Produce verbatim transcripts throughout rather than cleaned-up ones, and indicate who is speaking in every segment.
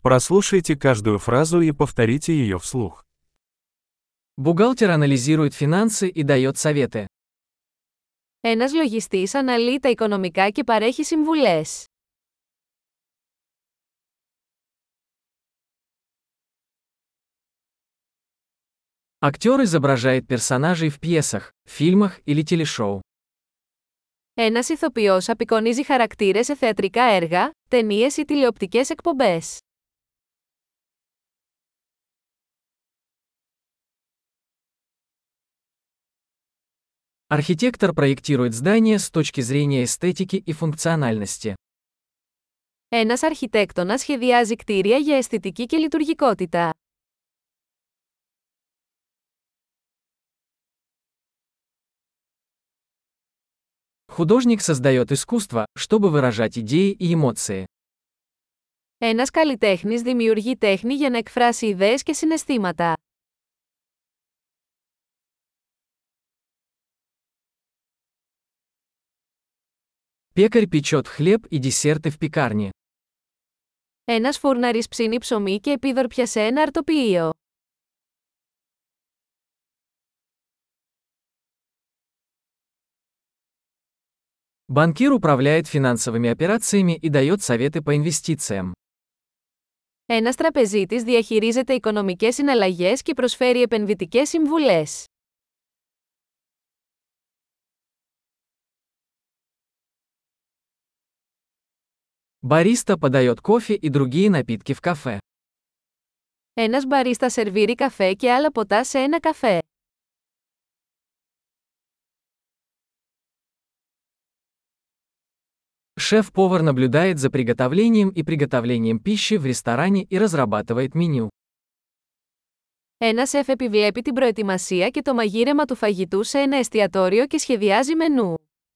Speaker 1: Прослушайте каждую фразу и повторите ее вслух.
Speaker 2: Бухгалтер анализирует финансы и дает советы.
Speaker 3: Ένας λογιστής αναλύει τα οικονομικά και παρέχει συμβουλές.
Speaker 2: Актер изображает персонажей в пьесах, фильмах или телешоу.
Speaker 3: Ένας ηθοποιός απεικονίζει χαρακτήρες σε θεατρικά έργα, ταινίες ή τηλεοπτικές εκπομπές.
Speaker 2: Архитектор проектирует здания с точки зрения эстетики и функциональности.
Speaker 3: Ένας αρχιτέκτονας σχεδιάζει κτίρια για αισθητική και λειτουργικότητα.
Speaker 2: Художник создает искусство, чтобы выражать идеи и эмоции.
Speaker 3: Ένας καλλιτέχνης δημιουργεί τέχνη για να εκφράσει ιδέες και συναισθήματα.
Speaker 2: Пекарь печет хлеб и десерты в пекарне.
Speaker 3: Ένας φούρναρης ψήνει ψωμί και επίδορπια σε ένα αρτοποιείο.
Speaker 2: Банкир управляет финансовыми операциями и дает советы по инвестициям.
Speaker 3: Ένας τραπεζίτης διαχειρίζεται οικονομικές συναλλαγές και προσφέρει επενδυτικές συμβουλές.
Speaker 2: Бариста подает кофе и другие напитки в кафе.
Speaker 3: Ένας μπαρίστα σερβίρει καφέ και άλλα ποτά σε ένα καφέ.
Speaker 2: Шеф-повар наблюдает за приготовлением и приготовлением пищи в ресторане и разрабатывает меню.
Speaker 3: Ένας σεφ επιβλέπει την προετοιμασία και το μαγείρεμα του φαγητού σε ένα εστιατόριο και σχεδιάζει μενού.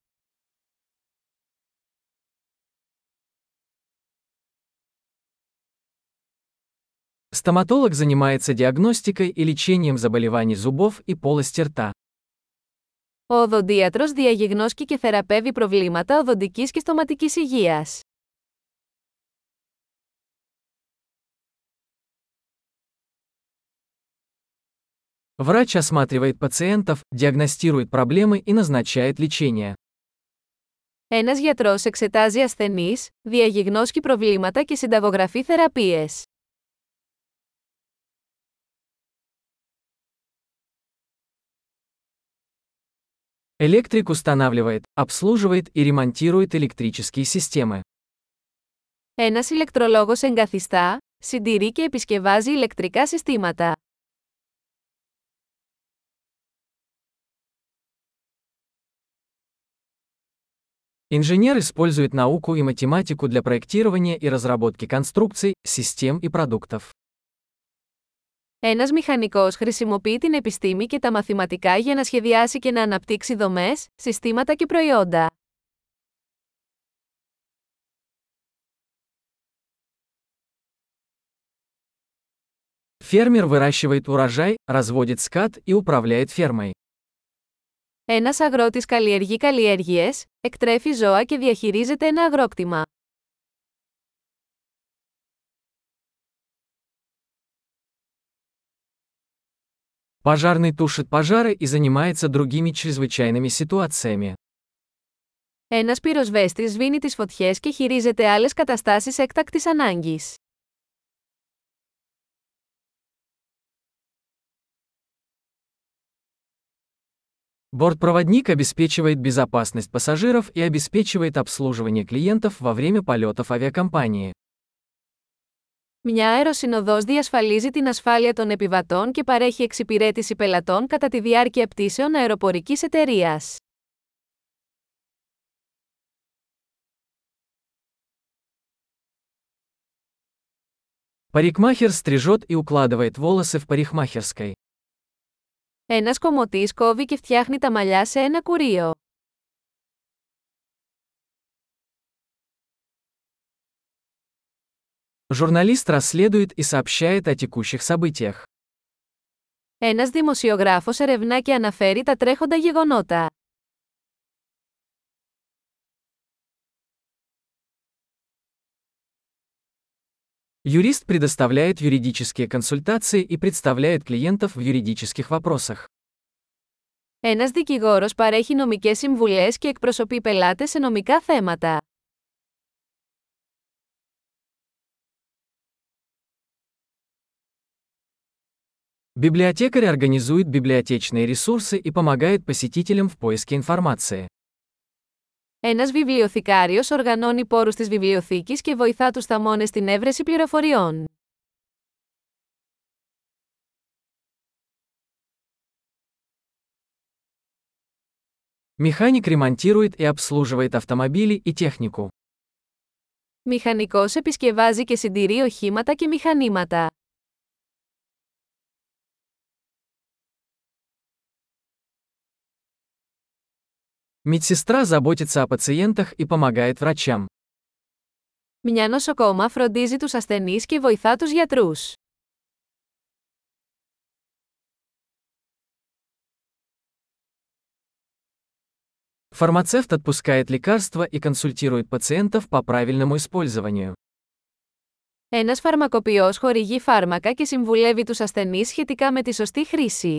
Speaker 2: Стоматолог занимается диагностикой и лечением заболеваний зубов и полости рта.
Speaker 3: Ο οδοντίατρος διαγιγνώσκει και θεραπεύει προβλήματα οδοντικής και στοματικής υγείας.
Speaker 2: Врач осматривает пациентов, диагностирует проблемы и назначает лечение.
Speaker 3: Ένας γιατρός εξετάζει ασθενείς, διαγιγνώσκει προβλήματα και συνταγογραφεί θεραπείες.
Speaker 2: Электрик устанавливает, обслуживает и ремонтирует электрические системы.
Speaker 3: Ένας ηλεκτρολόγος εγκαθιστά, συντηρεί και επισκευάζει ηλεκτρικά συστήματα.
Speaker 2: Инженер использует науку и математику для проектирования и разработки конструкций, систем и продуктов.
Speaker 3: Ένας μηχανικός χρησιμοποιεί την επιστήμη και τα μαθηματικά για να σχεδιάσει και να αναπτύξει δομές, συστήματα και προϊόντα.
Speaker 2: Фермер выращивает урожай, разводит скот и управляет фермой.
Speaker 3: Ένας αγρότης καλλιεργεί καλλιέργειες, εκτρέφει ζώα και διαχειρίζεται ένα αγρόκτημα.
Speaker 2: Пожарный тушит пожары и занимается другими чрезвычайными ситуациями.
Speaker 3: Ένας πυροσβέστης σβήνει τις φωτιές και χειρίζεται άλλες καταστάσεις έκτακτης ανάγκης.
Speaker 2: Бортпроводник обеспечивает безопасность пассажиров и обеспечивает обслуживание клиентов во время полетов авиакомпании.
Speaker 3: Μια αεροσυνοδός διασφαλίζει την ασφάλεια των επιβατών και παρέχει εξυπηρέτηση πελατών κατά τη διάρκεια πτήσεων αεροπορικής εταιρείας.
Speaker 2: Парикмахер стрижет и укладывает волосы в парикмахерской.
Speaker 3: Ένας κομμωτής κόβει και φτιάχνει τα μαλλιά σε ένα κουρείο.
Speaker 2: Журналист расследует и сообщает о текущих событиях.
Speaker 3: Ένας δημοσιογράφος ερευνά και αναφέρει τα τρέχοντα γεγονότα.
Speaker 2: Юрист предоставляет юридические консультации и представляет клиентов в юридических вопросах.
Speaker 3: Ένας δικηγόρος παρέχει νομικές συμβουλές και εκπροσωπεί πελάτες σε νομικά θέματα.
Speaker 2: Библиотекарь организует библиотечные ресурсы и помогает посетителям в поиске информации.
Speaker 3: Ένας βιβλιοθηκάριος οργανώνει πόρους της βιβλιοθήκης και βοηθά τους θαμώνες στην έβρεση πληροφοριών.
Speaker 2: Механик ремонтирует и обслуживает автомобили и технику.
Speaker 3: Μηχανικός επισκευάζει και συντηρεί οχήματα και μηχανήματα.
Speaker 2: Медсестра заботится о пациентах и помогает врачам.
Speaker 3: Μια νοσοκόμα φροντίζει τους ασθενείς και βοηθά τους γιατρούς.
Speaker 2: Фармацевт отпускает лекарства и консультирует пациентов по правильному использованию.
Speaker 3: Ένας φαρμακοποιός χορηγεί φάρμακα και συμβουλεύει τους ασθενείς σχετικά με τη σωστή χρήση.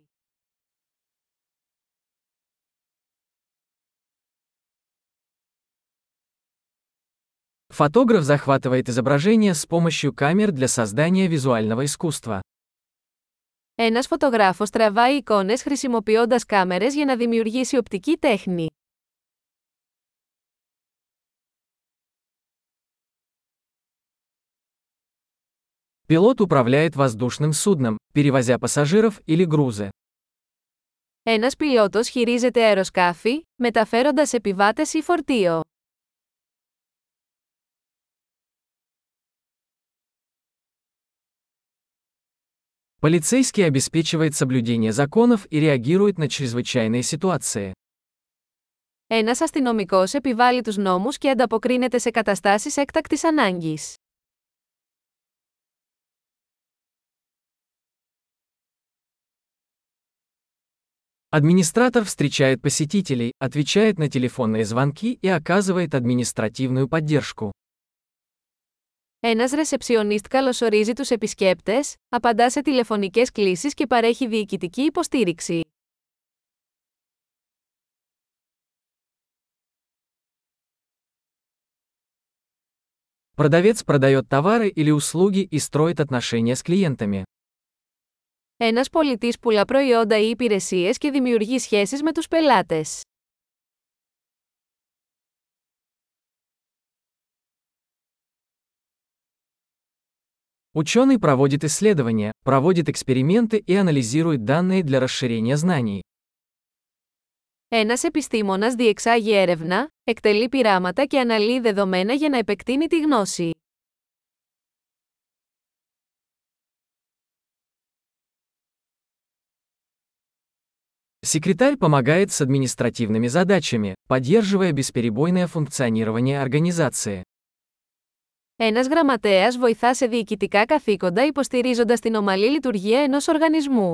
Speaker 2: Фотограф захватывает изображение с помощью камер для создания визуального искусства.
Speaker 3: Ένας φωτογράφος τραβάει εικόνες χρησιμοποιώντας κάμερες για να δημιουργήσει οπτική τέχνη.
Speaker 2: Пилот управляет воздушным судном, перевозя пассажиров или грузы.
Speaker 3: Ένας πιλότος χειρίζεται αεροσκάφη, μεταφέροντας επιβάτες ή φορτίο.
Speaker 2: Полицейский обеспечивает соблюдение законов и реагирует на чрезвычайные ситуации.
Speaker 3: Ένας αστυνομικός επιβάλλει τους νόμους και ανταποκρίνεται σε καταστάσεις έκτακτης ανάγκης.
Speaker 2: Администратор встречает посетителей, отвечает на телефонные звонки и оказывает административную поддержку.
Speaker 3: Ένας ρεσεψιονίστ καλωσορίζει τους επισκέπτες, απαντά σε τηλεφωνικές κλήσεις και παρέχει διοικητική υποστήριξη.
Speaker 2: Продавец продает товары или услуги и строит отношения с клиентами.
Speaker 3: Ένας πολιτής πουλά προϊόντα ή υπηρεσίες και δημιουργεί σχέσεις με τους πελάτες.
Speaker 2: Ученый проводит исследования, проводит эксперименты и анализирует данные для расширения знаний.
Speaker 3: Ένας επιστήμονας διεξάγει έρευνα, εκτελεί πειράματα και αναλύει δεδομένα για να επεκτείνει τη γνώση.
Speaker 2: Секретарь помогает с административными задачами, поддерживая бесперебойное функционирование организации.
Speaker 3: Ένας γραμματέας βοηθά σε διοικητικά καθήκοντα υποστηρίζοντας την ομαλή λειτουργία ενός οργανισμού.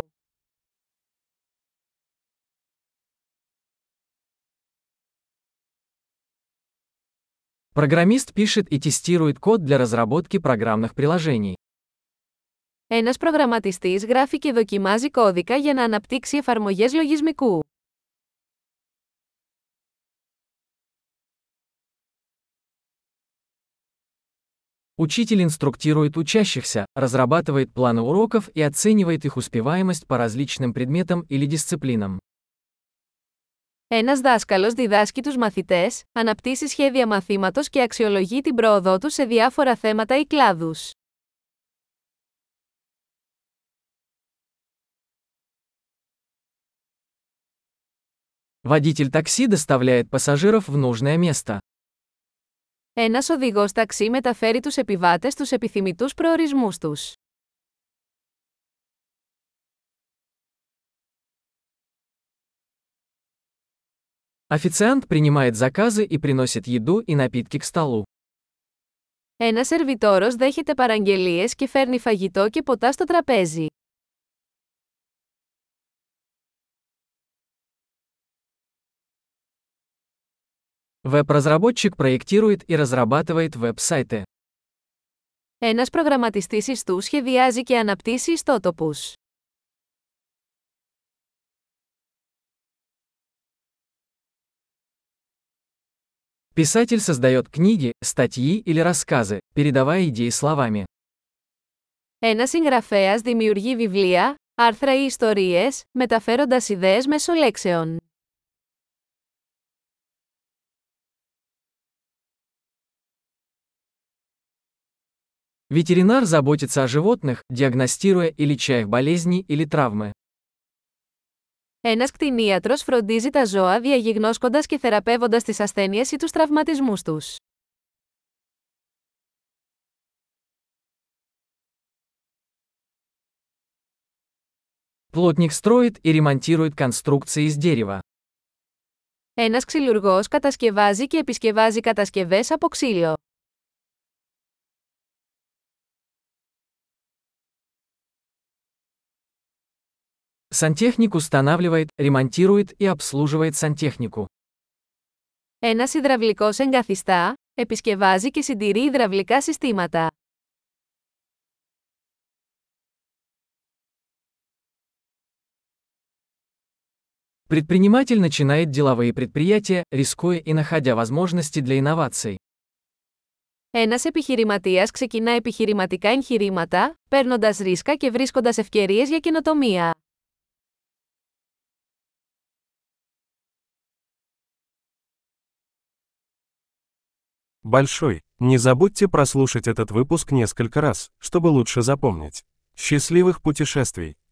Speaker 2: Программист пишет и тестирует код для разработки программных приложений.
Speaker 3: Ένας προγραμματιστής γράφει και δοκιμάζει κώδικα για να αναπτύξει εφαρμογές λογισμικού.
Speaker 2: Учитель инструктирует учащихся, разрабатывает планы уроков и оценивает их успеваемость по различным предметам или дисциплинам.
Speaker 3: Ένας δάσκαλος διδάσκει τους μαθητές, αναπτύσσει σχέδια μαθήματος και αξιολογεί την πρόοδό τους σε διάφορα θέματα ή κλάδους.
Speaker 2: Водитель такси доставляет пассажиров в нужное место.
Speaker 3: Ένας οδηγός ταξί μεταφέρει τους επιβάτες στους επιθυμητούς προορισμούς τους.
Speaker 2: Официант принимает заказы и приносит еду и напитки к столу.
Speaker 3: Ένας σερβιτόρος δέχεται παραγγελίες και φέρνει φαγητό και ποτά στο τραπέζι.
Speaker 2: Веб-разработчик проектирует и разрабатывает веб-сайты.
Speaker 3: Ένας προγραμματιστής ιστού σχεδιάζει και αναπτύσσει ιστότοπους.
Speaker 2: Писатель создает книги, статьи или рассказы, передавая идеи словами.
Speaker 3: Ένας συγγραφέας δημιουργεί βιβλία, άρθρα ή ιστορίες, μεταφέροντας ιδέες μέσω λέξεων.
Speaker 2: Ветеринар заботится о животных, диагностируя и леча их болезни или травмы.
Speaker 3: Ένας κτηνίατρος φροντίζει τα ζώα διαγιγνώσκοντας και θεραπεύοντας τις ασθένειες ή τους τραυματισμούς τους.
Speaker 2: Плотник строит и ремонтирует конструкции из дерева.
Speaker 3: Ένας ξυλουργός κατασκευάζει και επισκευάζει κατασκευές από ξύλο.
Speaker 2: Сантехник устанавливает, ремонтирует и обслуживает сантехнику.
Speaker 3: Ένας υδραυλικός εγκαθιστά, επισκευάζει και συντηρεί υδραυλικά συστήματα.
Speaker 2: Предприниматель начинает деловые предприятия, рискуя и находя возможности для инноваций.
Speaker 3: Ένας επιχειρηματίας ξεκινά επιχειρηματικά εγχειρήματα, παίρνοντας ρίσκα και βρίσκοντας ευκαιρίες για καινοτομία.
Speaker 1: Большой. Не забудьте прослушать этот выпуск несколько раз, чтобы лучше запомнить. Счастливых путешествий!